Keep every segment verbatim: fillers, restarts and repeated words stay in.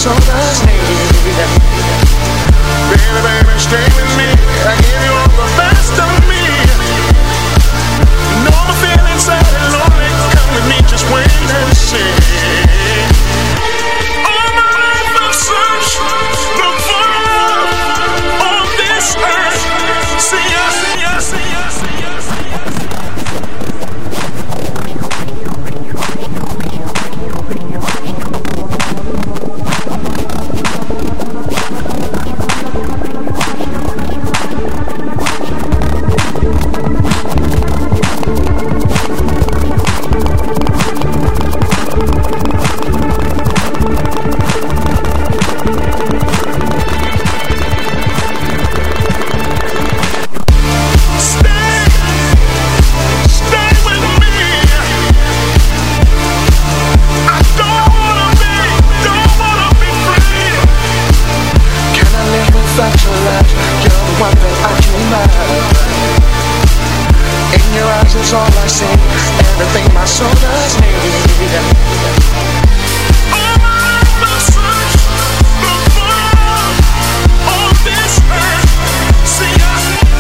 soda's need. Baby, baby, stay with me. I give you all the best of me. No more feeling sad and lonely. Come with me, just wait and see. All my life I've searched, look for love on this earth. See ya, see ya, see ya, see ya, see ya. All I see, everything my soul does need. All my life I've searched, look for love on this earth. See ya.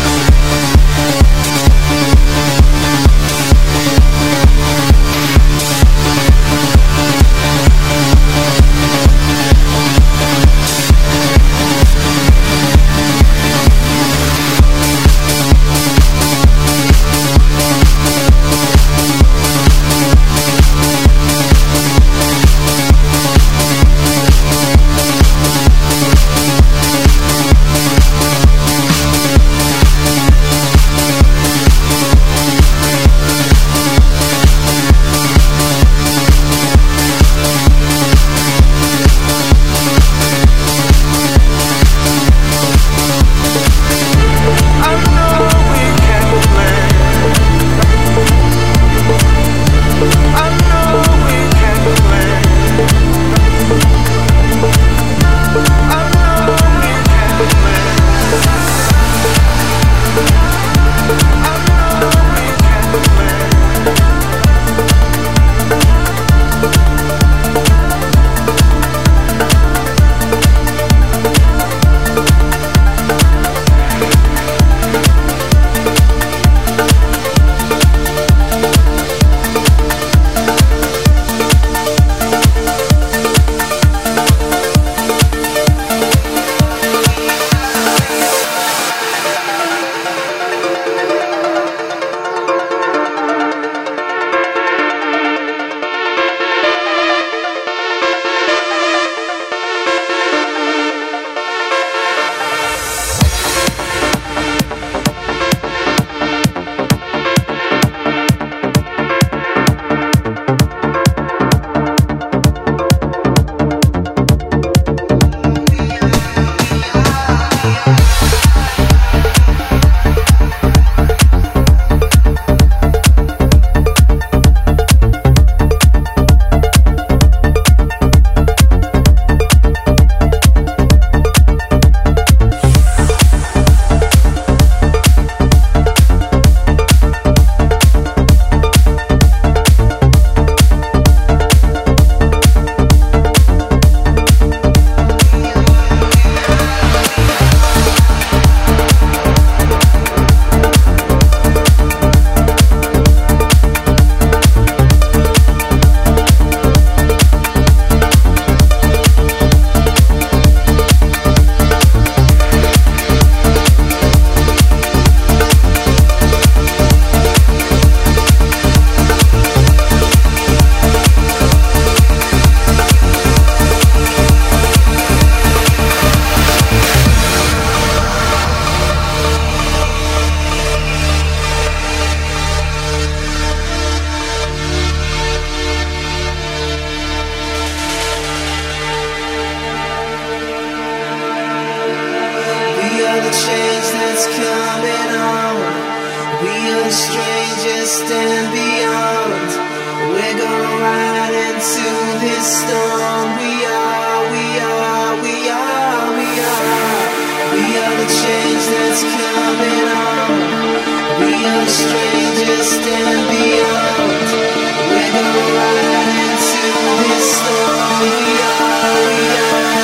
Strangers stand beyond. We're gonna ride into this storm. We are, we are.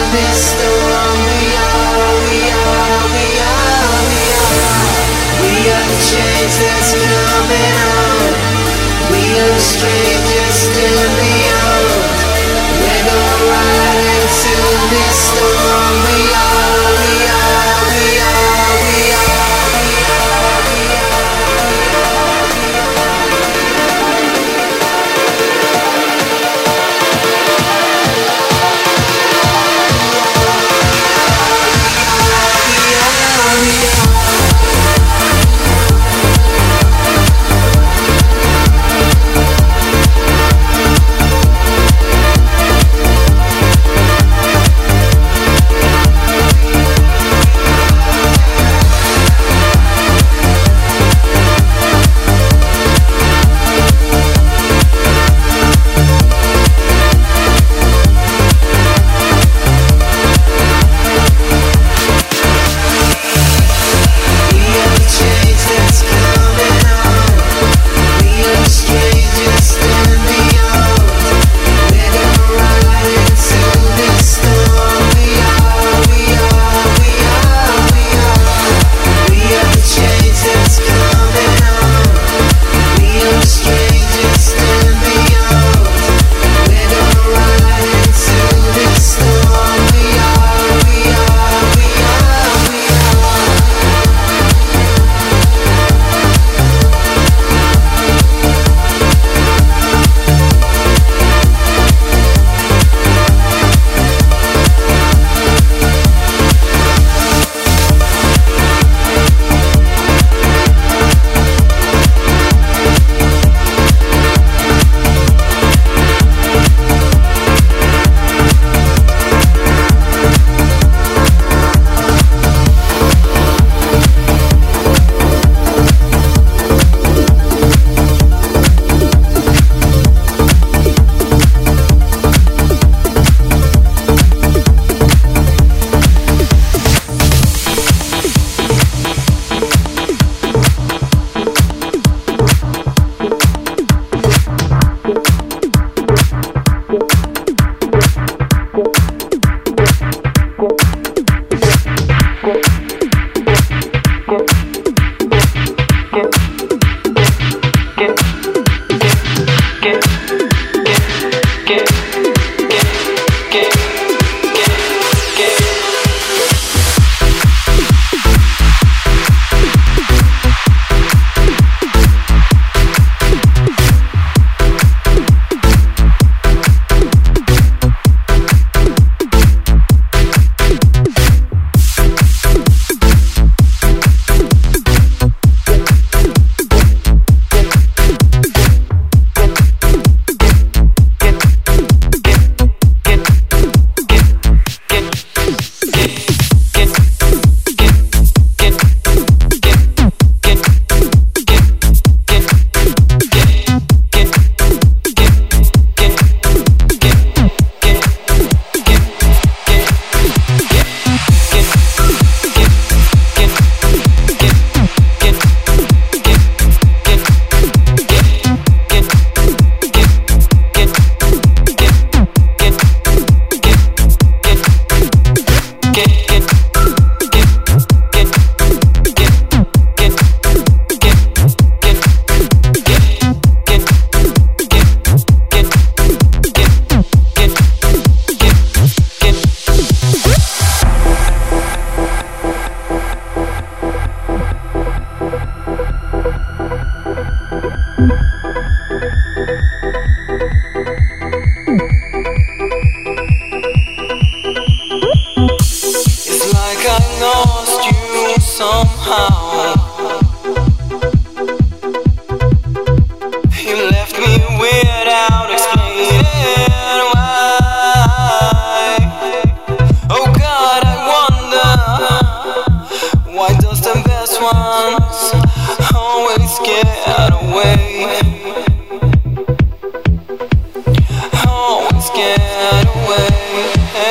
this storm. We are, we are, we are, we are. We are the change that's coming on. We are the strangers still beyond. We're gonna ride into this storm. We are, we are, we are, we are, we are, we are.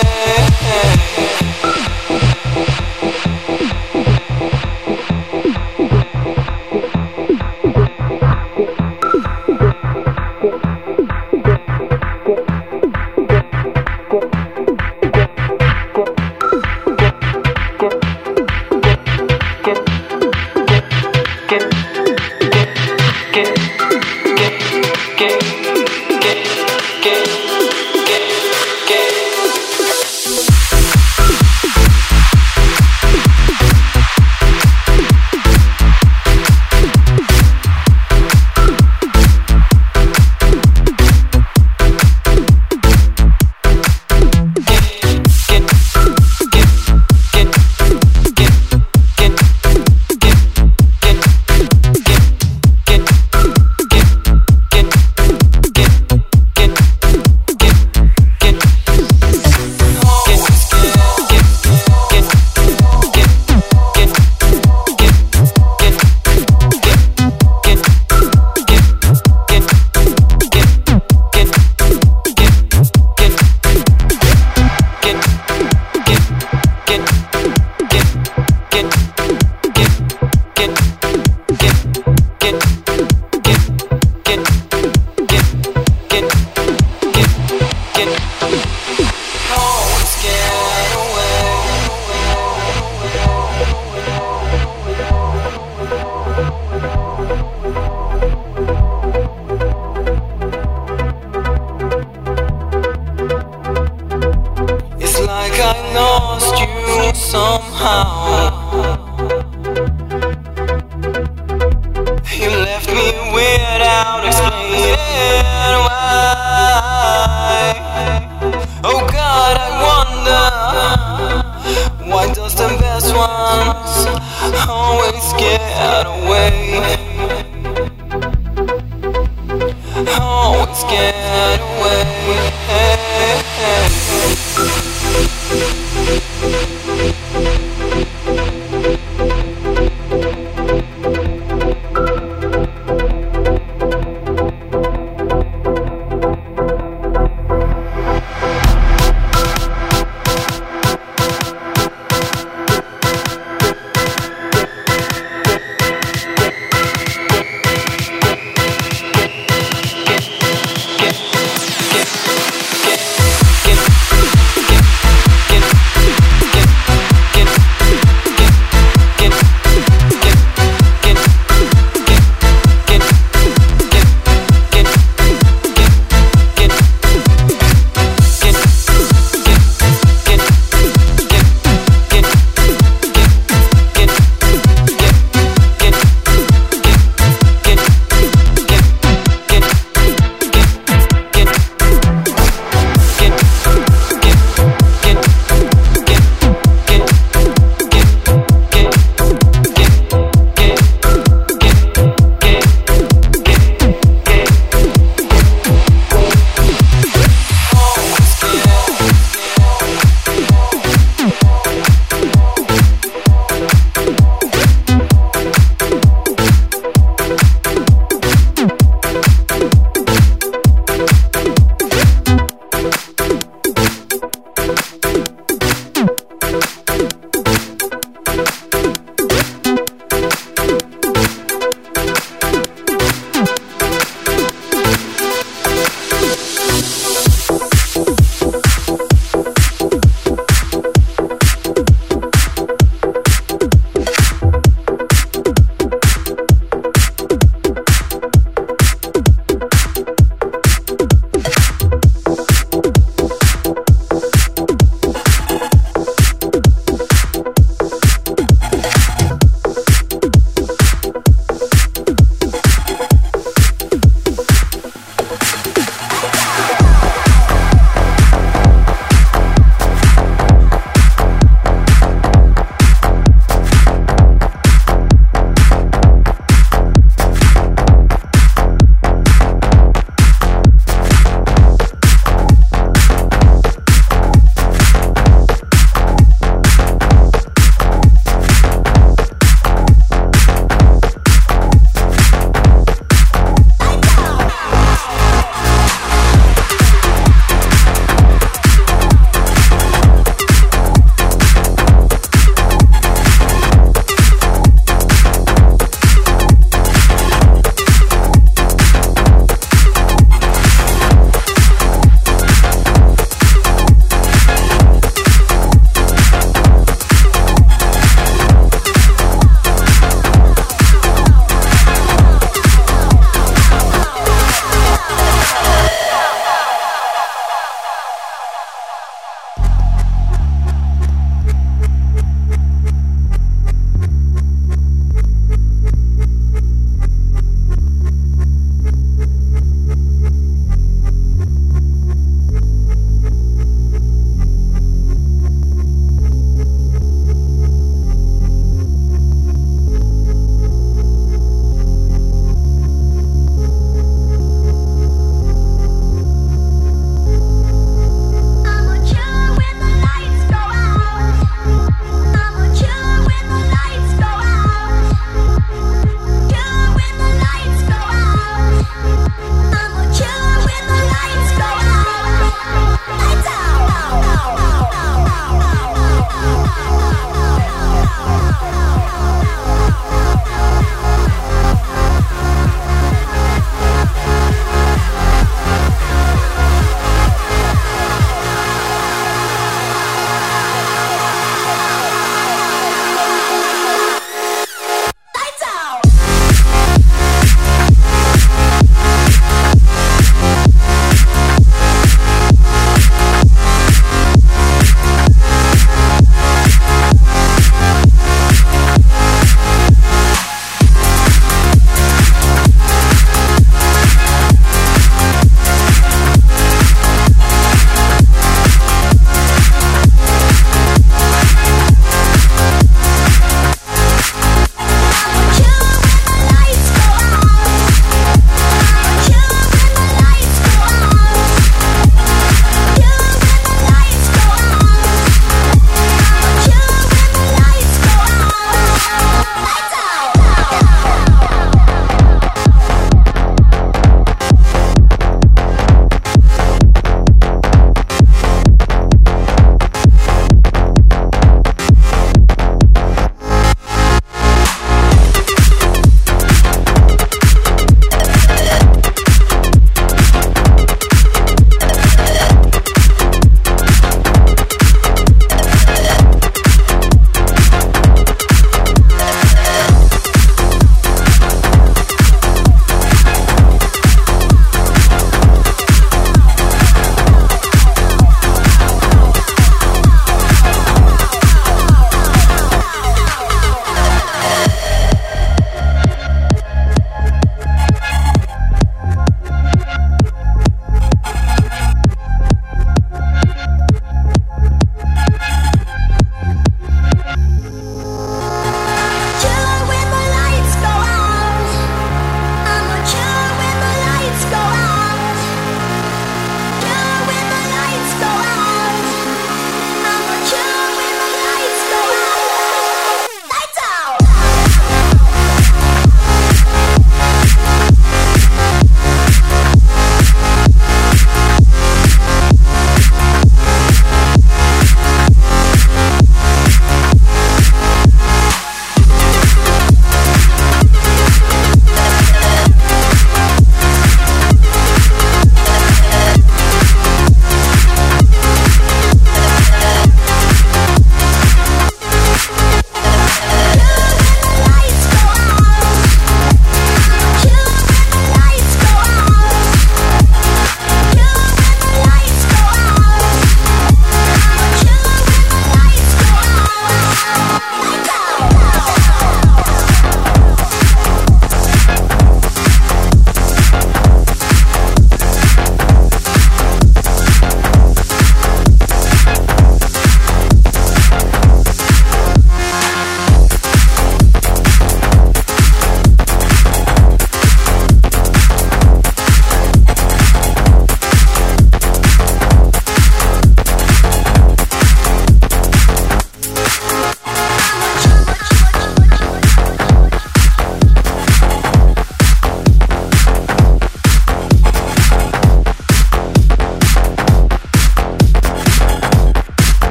Hey, hey. Get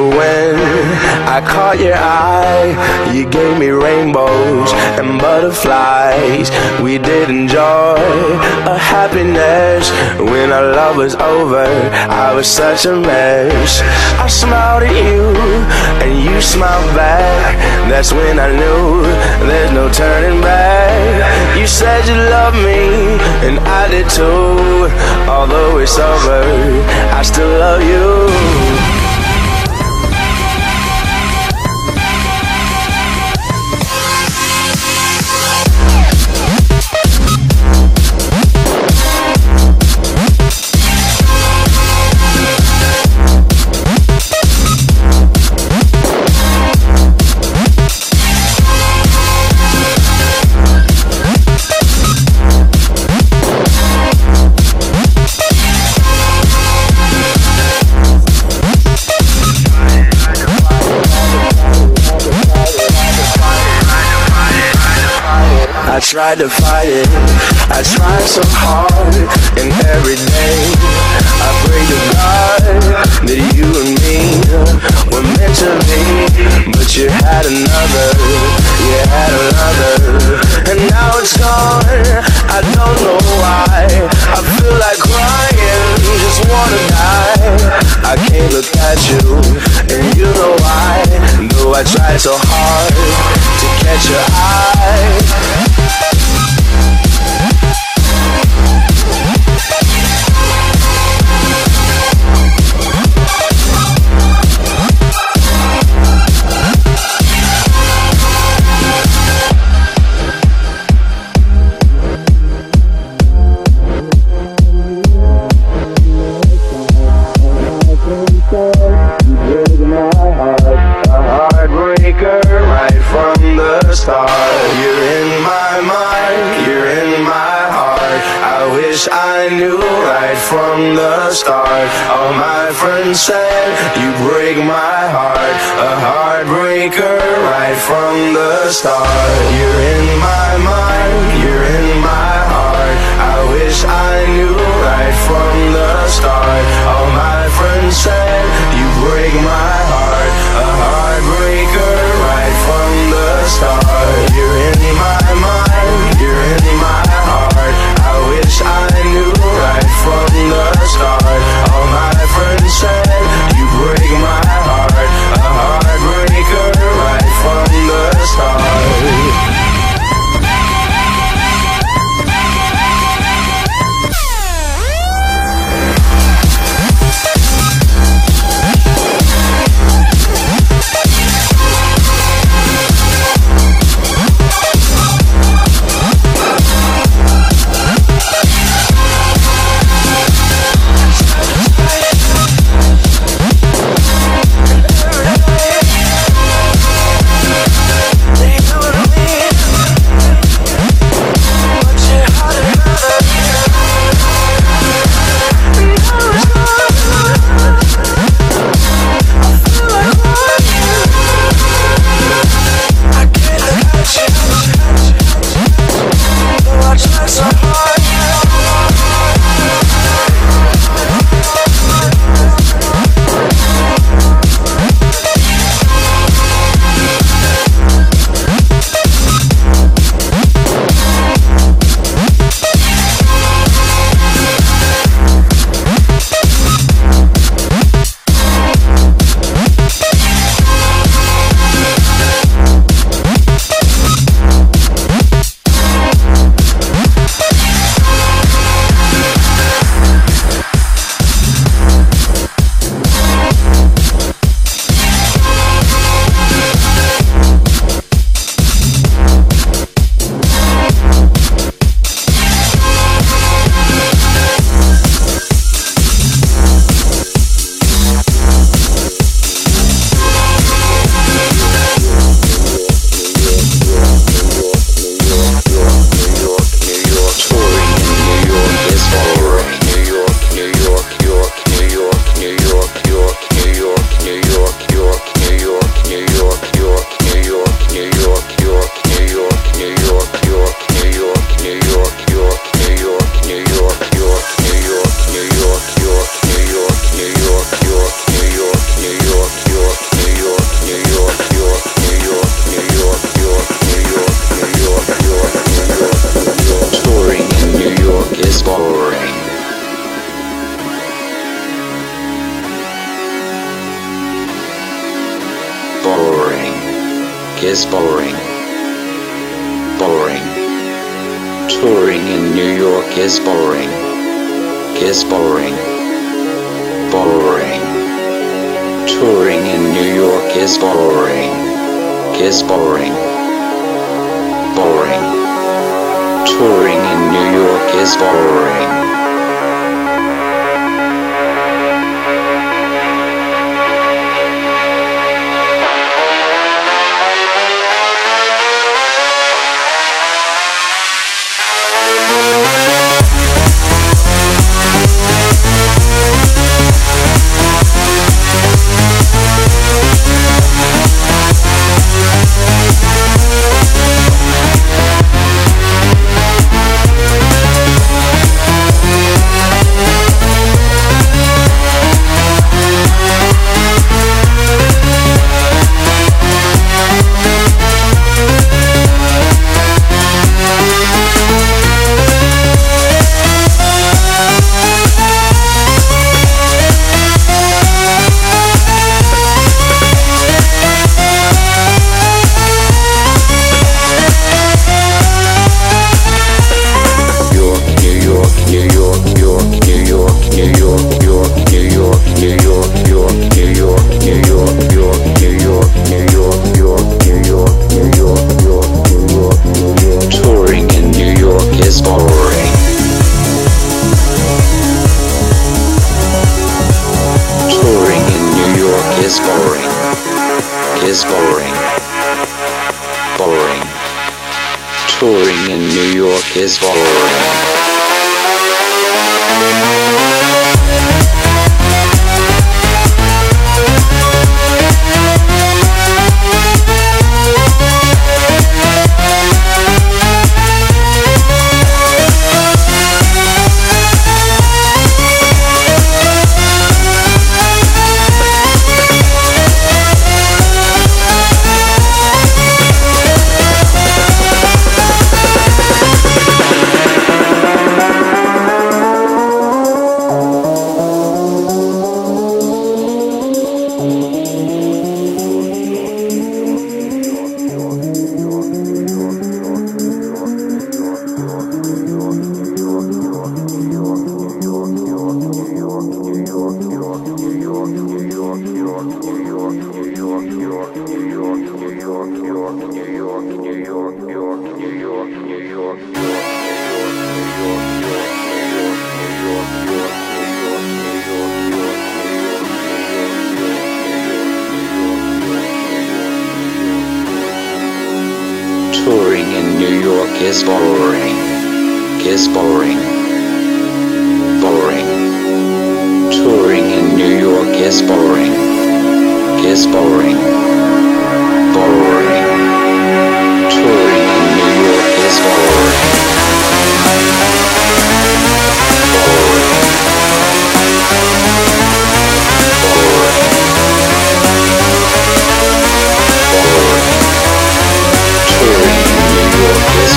when I caught your eye, you gave me rainbows and butterflies. We did enjoy a happiness. When our love was over, I was such a mess. I smiled at you and you smiled back. That's when I knew there's no turning back. You said you loved me and I did too. Although it's over, I still love you. I tried to fight it, I tried so hard, and every day I pray to God that you and me were meant to be. But you had another, you had another, and now it's gone, I don't know why. I feel like crying, just wanna die. I can't look at you, and you know why. Though I tried so hard to catch your eye. I knew right from the start. All my friends said you break my heart. A heartbreaker right from the start. You're in my mind, you're in my heart. I wish I knew right from the start. All my friends said you break my heart. A heartbreaker right from the start. You're in my mind, you're in my heart. I wish I knew right from the start. All my friends said you break my heart. A heartbreaker right from the start. boring, is boring, boring. Touring in New York is boring, is boring, boring. Touring in New York is boring, is boring, boring. Touring in New York is boring. Is boring, boring. Touring in New York is boring. Touring in New York is boring, is boring, boring. Touring in New York is boring, is boring, boring. Touring in New York is boring, boring, boring, boring. Touring in New York is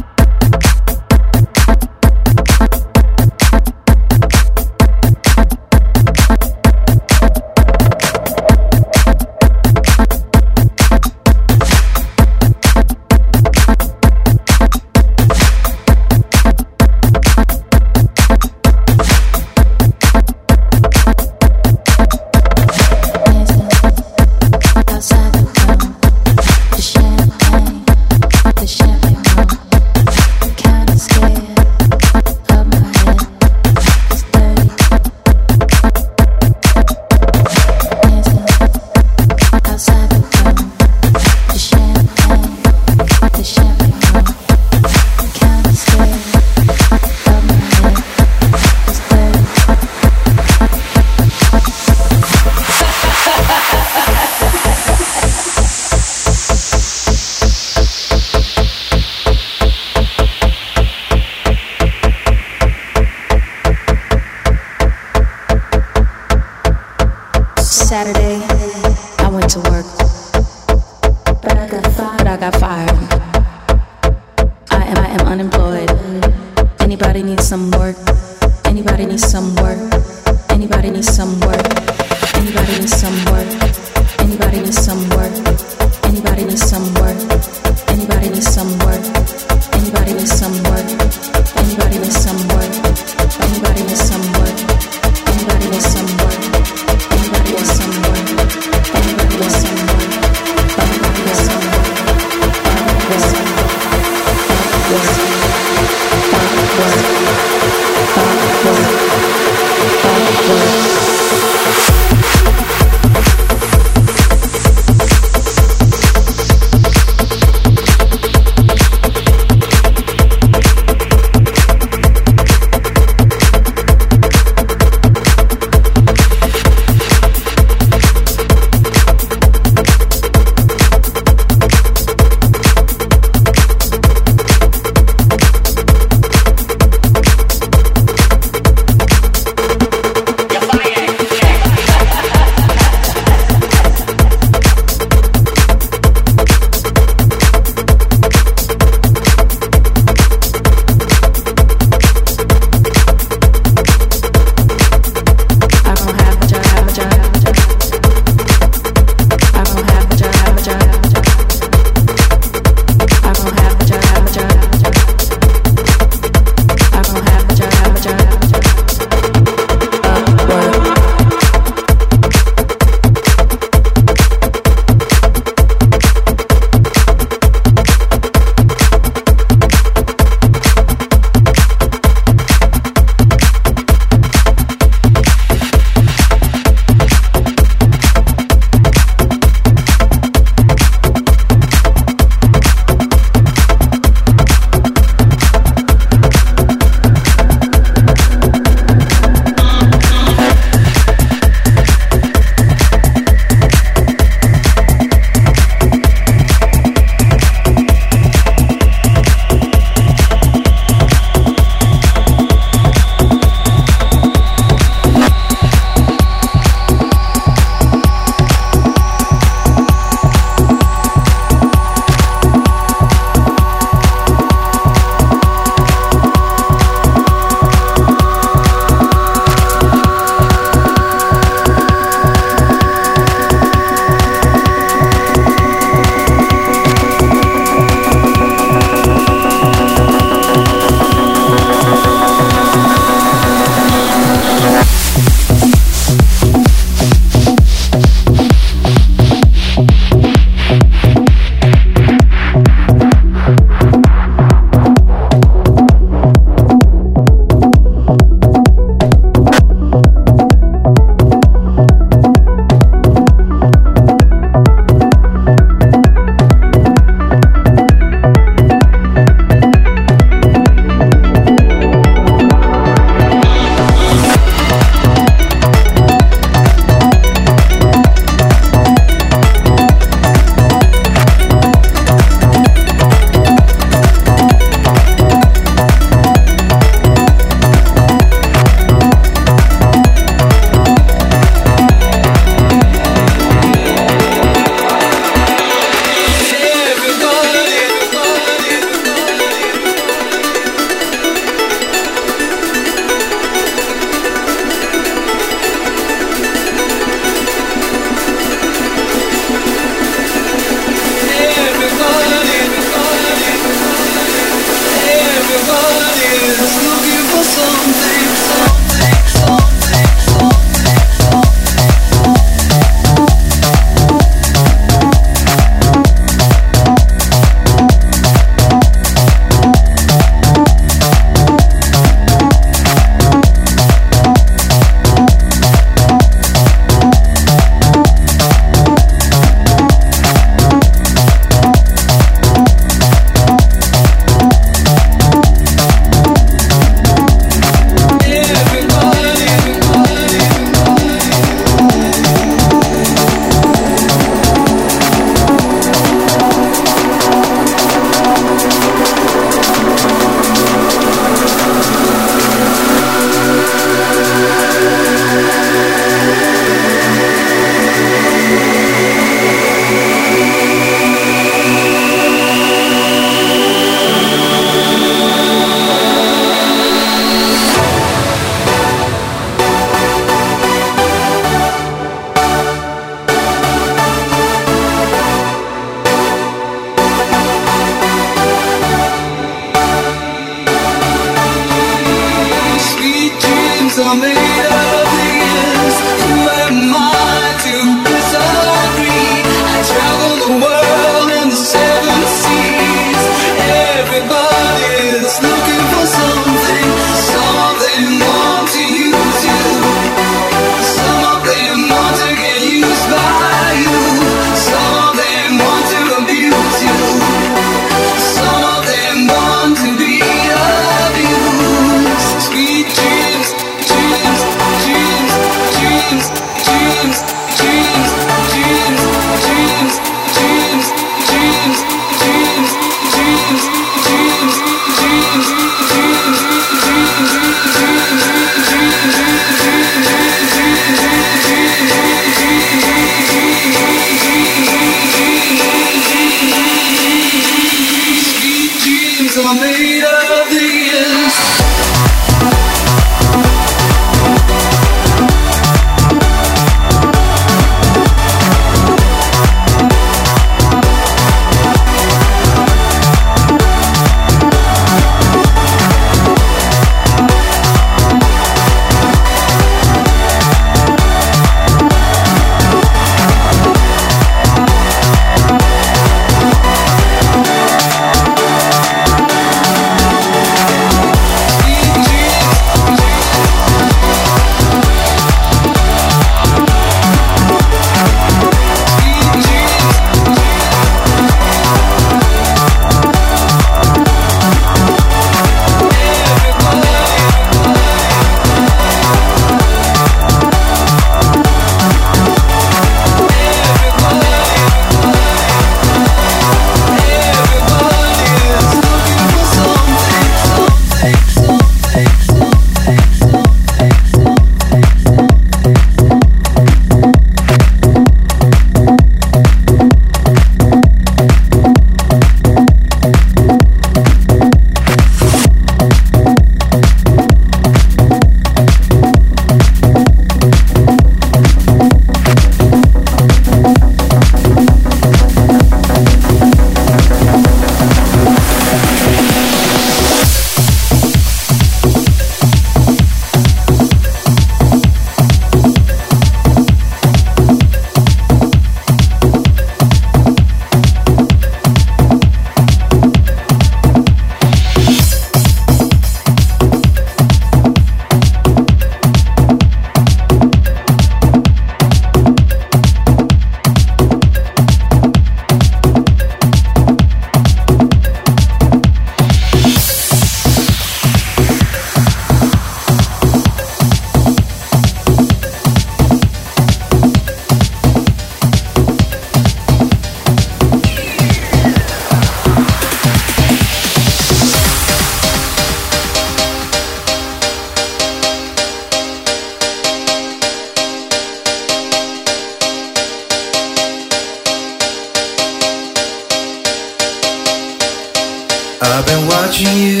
I've been watching you.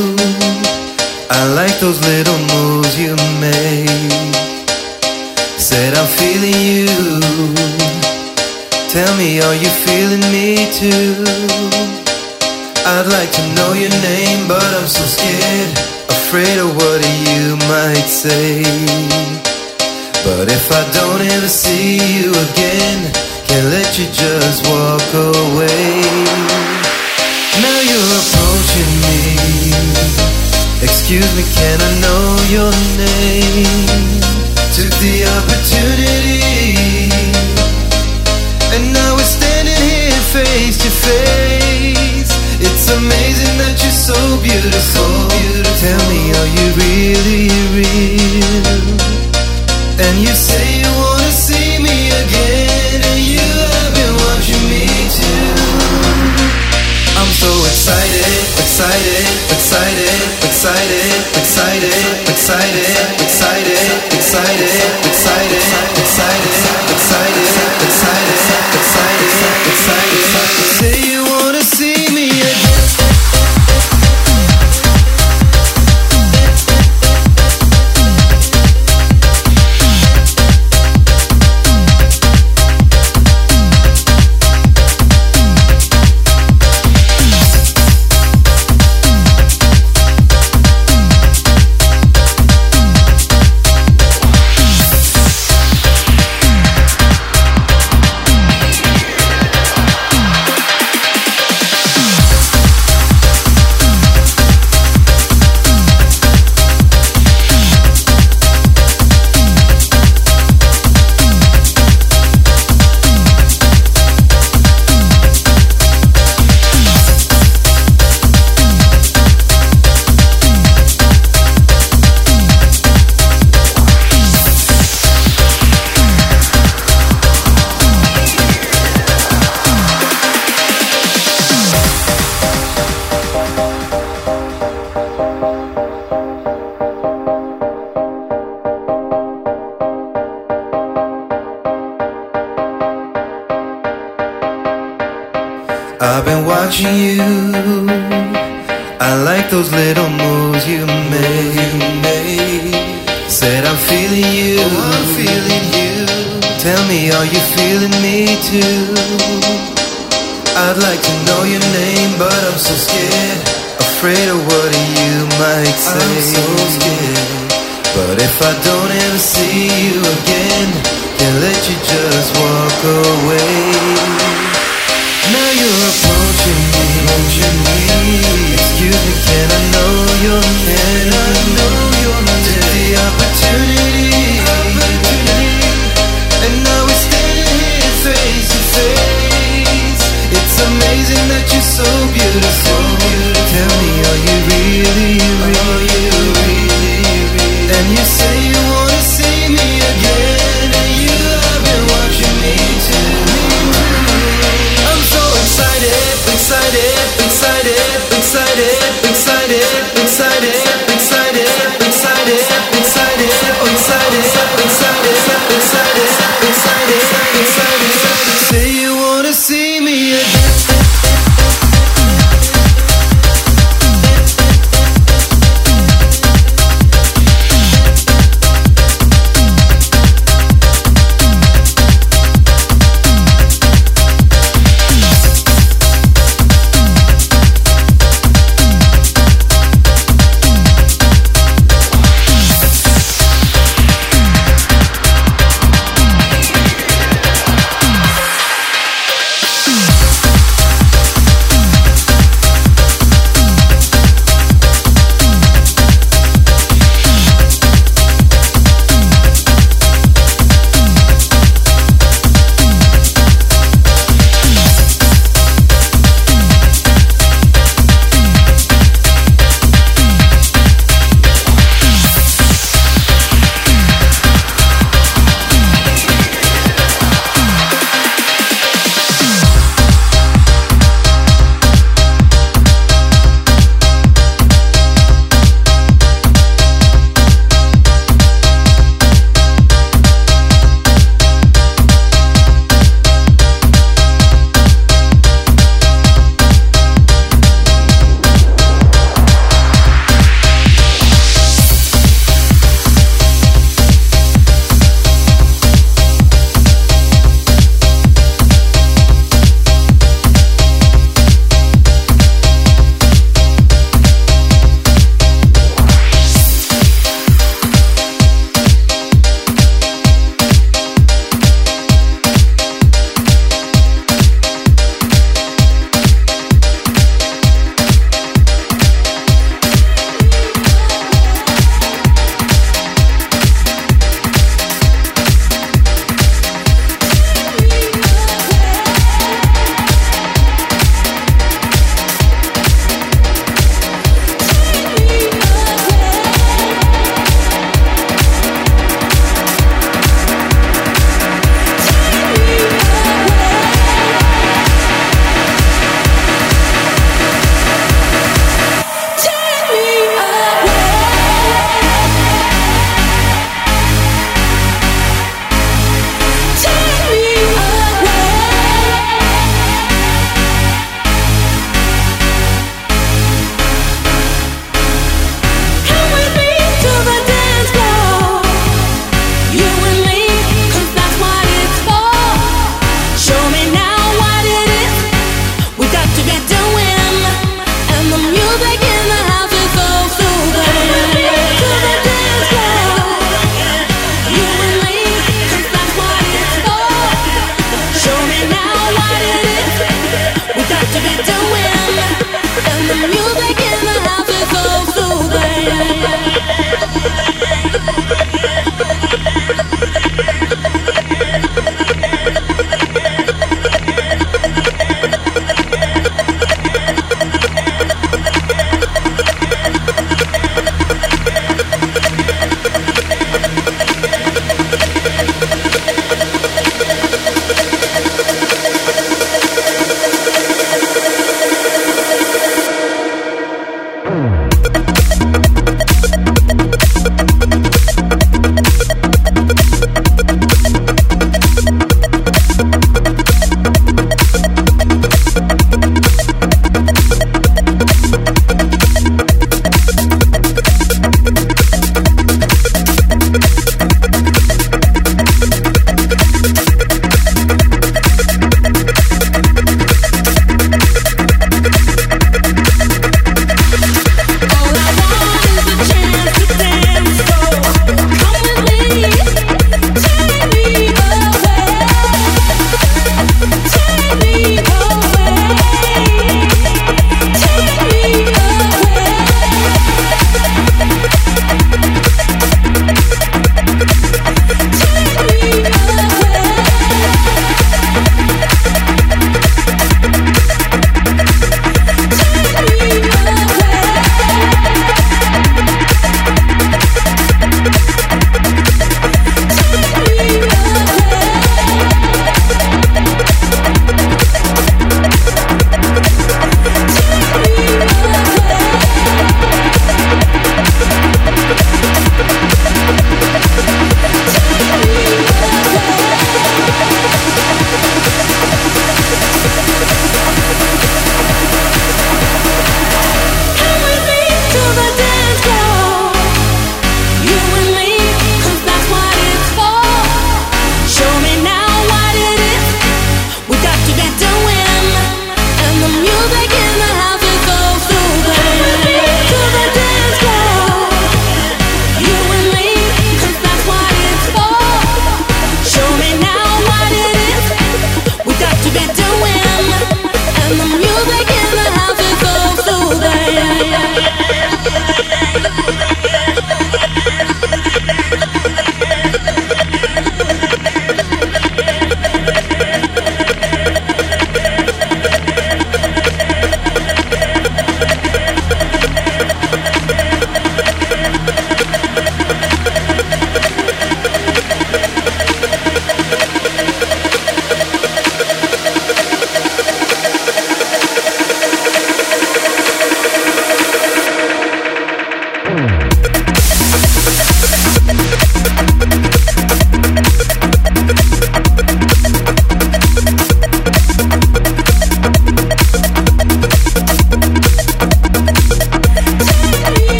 I like those little moves you make. Said I'm feeling you. Tell me, are you feeling me too? I'd like to know your name, but I'm so scared, afraid of what you might say. But if I don't ever see you again, can't let you just walk away. Now you're approaching me. Excuse me, can I know your name? Took the opportunity, and now we're standing here face to face. It's amazing that you're so beautiful. Tell me, are you really real? And you say you wanna see me again, and you have been watching me too. I'm so excited, excited, excited, excited, excited, excited, excited, excited, excited, excited, excited, excited, excited, excited. Say you wanna see me again. I've been watching you. I like those little moves you made. Said I'm feeling you. Oh, I'm feeling you. Tell me, are you feeling me too? I'd like to know your name, but I'm so scared, afraid of what you might say. I'm so scared. But if I don't ever see you again, can't let you just walk away. Now you're approaching me, approaching me. Excuse me, can I know your name? I know your name. Took the opportunity, opportunity, and now we're standing here face to face. It's amazing that you're so beautiful. Tell me, are you really, really, really, really? And you say you wanna see me again, and you have been watching me too. Excited, excited, excited, excited, excited, excited, excited, excited, excited, oh excited, excited, excited, excited, excited. Say you wanna see me again.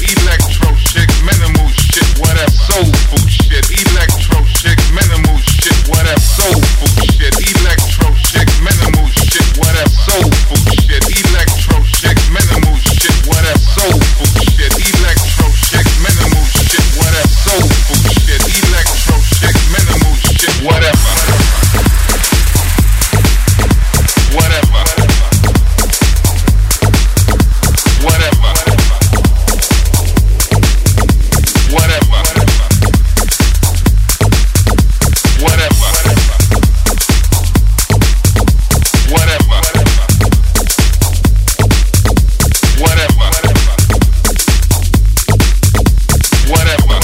electro chick, minimal shit, whatever. Soulful shit, electro chick, minimal shit, whatever. Soulful shit, electro chick, minimal shit, whatever. Soulful shit, electro chick, minimal shit, whatever. Soulful shit, electro chick, minimal shit, whatever. Soulful shit, electro chick, minimal shit, whatever. Whatever. Whatever. Whatever. Whatever. Whatever. Whatever. Whatever.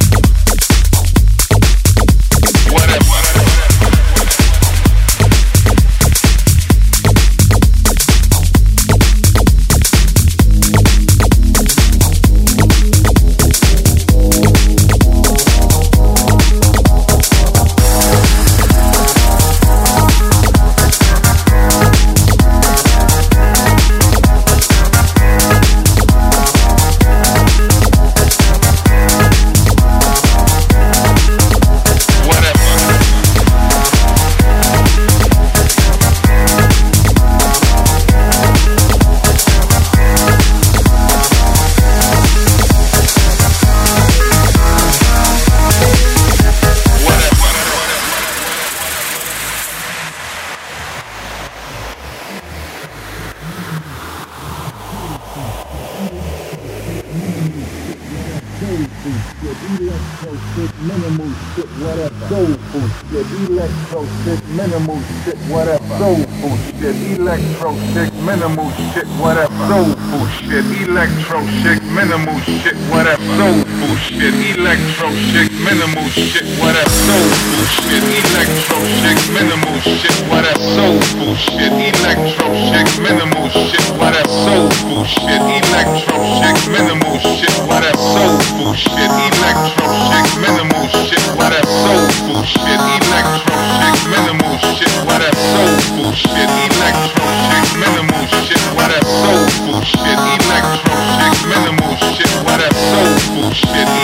Minimal shit, whatever. Soulful shit, electro shit, minimal shit, whatever. Soulful shit, electro shit, minimal shit, whatever. Soulful shit, electro shit, minimal shit, whatever. Soulful shit, electro shit, minimal shit, whatever. Soulful shit, electro shit, minimal shit, whatever. Soulful shit, electro shit, minimal shit, whatever. Soulful shit, electro shit, minimal shit, whatever. Soulful shit, electro shit, minimal shit, whatever. Soulful shit, electro shit, minimal shit, whatever. Soulful shit, electro shit, minimal shit, whatever. Soulful shit, electro shit, minimal shit, whatever. Soulful shit,